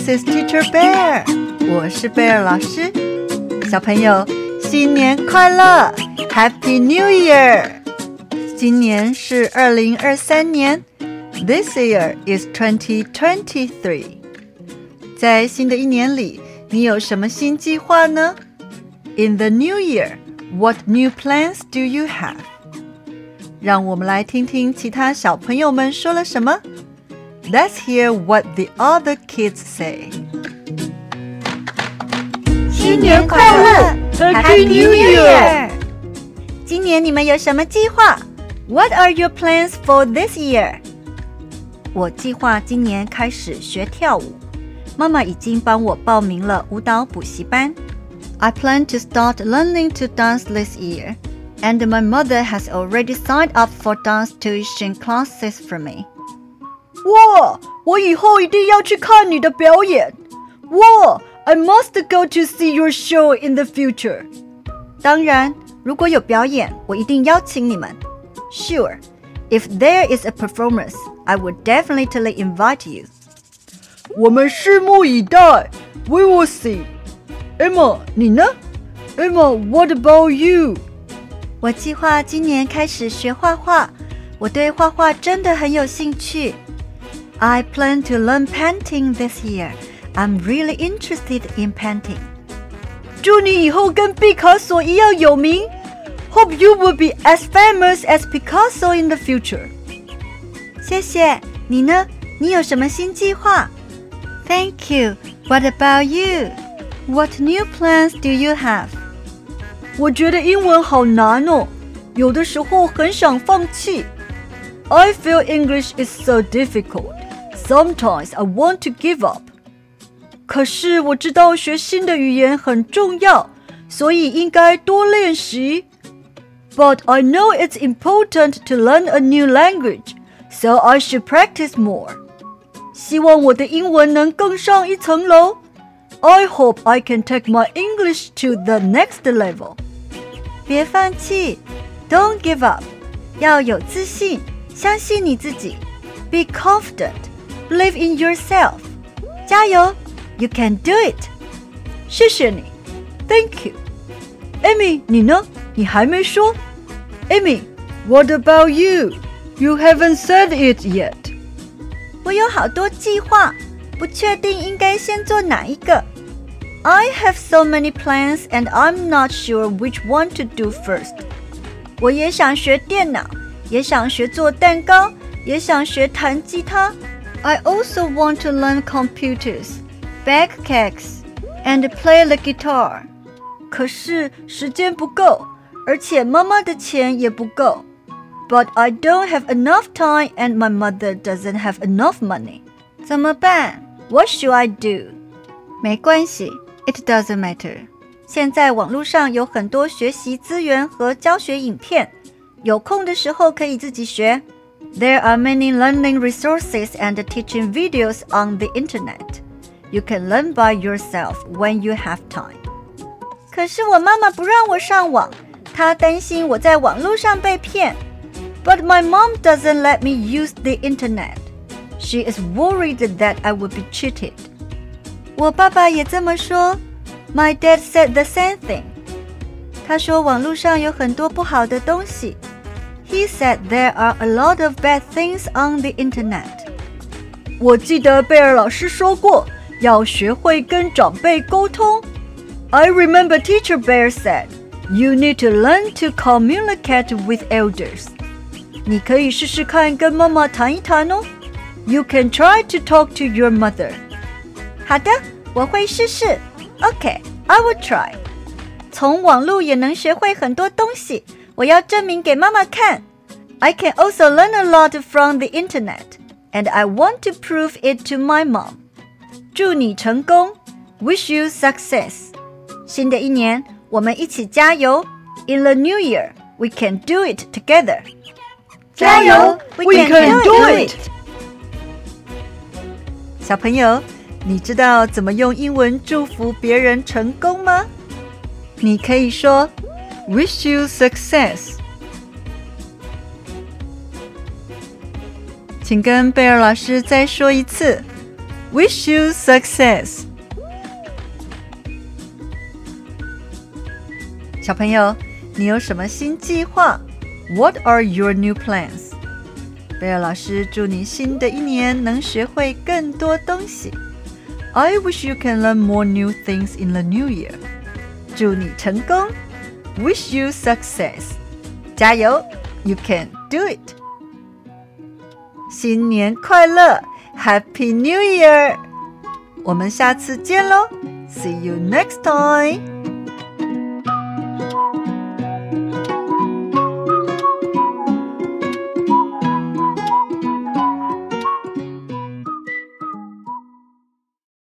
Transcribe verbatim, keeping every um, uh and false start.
This is Teacher Bear. 我是貝爾老師。小朋友，新年快樂 ！Happy New Year！ 今年是二零二三年 ，This year is twenty twenty-three。在新的一年裡，你有什麼新計劃呢 ？In the new year, what new plans do you have？ 讓我們來聽聽其他小朋友們說了什麼。Let's hear what the other kids say. 新年快樂 Happy New Year! 今年你們有什麼計劃 What are your plans for this year? 我計劃今年開始學跳舞。媽媽已經幫我報名了舞蹈補習班。I plan to start learning to dance this year, and my mother has already signed up for dance tuition classes for me. 哇！我以後一定要去看你的表演。哇 I must go to see your show in the future. 當然，如果有表演，我一定邀請你們。Sure, if there is a performance, I would definitely invite you. 我們拭目以待。We will see. Emma, 你呢 ？Emma, what about you? 我計劃今年開始學畫畫。我對畫畫真的很有興趣。I plan to learn painting this year. I'm really interested in painting. 祝你以後跟畢卡索一樣有名。Hope you will be as famous as Picasso in the future. 謝謝。你呢？你有什麼新計劃 ？Thank you. What about you? What new plans do you have? 我覺得英文好難哦，有的時候很想放棄。I feel English is so difficult.Sometimes I want to give up. 可是我知道學新的語言很重要，所以應該多練習。But I know it's important to learn a new language, so I should practice more. 希望我的英文能更上一層樓。I hope I can take my English to the next level. 別放棄 Don't give up. 要有自信，相信你自己。Be confident.Believe in yourself. 加油 You can do it. 謝謝你 Thank you. Amy, 你呢？你還沒說 Amy, what about you? You haven't said it yet. 我有好多計劃，不確定應該先做哪一個。I have so many plans and I'm not sure which one to do first. 我也想學電腦，也想學做蛋糕，也想學彈吉他。I also want to learn computers, bake cakes, and play the guitar. 可是時間不夠，而且媽媽的錢也不夠。But I don't have enough time and my mother doesn't have enough money. 怎麼辦 What should I do? 沒關係 It doesn't matter. 現在網絡上有很多學習資源和教學影片，有空的時候可以自己學。There are many learning resources and teaching videos on the internet. You can learn by yourself when you have time. 可是我媽媽不讓我上網，她擔心我在網絡上被騙。 But my mom doesn't let me use the internet. She is worried that I would be cheated. 我爸爸也這麼說。My dad said the same thing. 他說網絡上有很多不好的東西。He said there are a lot of bad things on the internet. 我記得貝爾老師說過，要學會跟長輩溝通。I remember Teacher Bear said, you need to learn to communicate with elders. 你可以試試看跟媽媽談一談哦。You can try to talk to your mother. 好的，我會試試。Okay, I will try. 從網絡也能學會很多東西。我要證明給媽媽看。I can also learn a lot from the internet, and I want to prove it to my mom. 祝你成功 Wish you success. 新的一年，我們一起加油 In the new year, we can do it together. 加油 We, we can, can do, do it. 小朋友，你知道怎麼用英文祝福別人成功嗎？你可以說Wish you success. 请跟貝爾老師再說一次 Wish you success. 小朋友，你有什麼新計劃？ What are your new plans? 貝爾老師祝你新的一年能學會更多東西。I wish you can learn more new things in the new year. 祝你成功。Wish you success. 加油 You can do it. 新年快樂 Happy New Year. 我們下次見嘍 See you next time.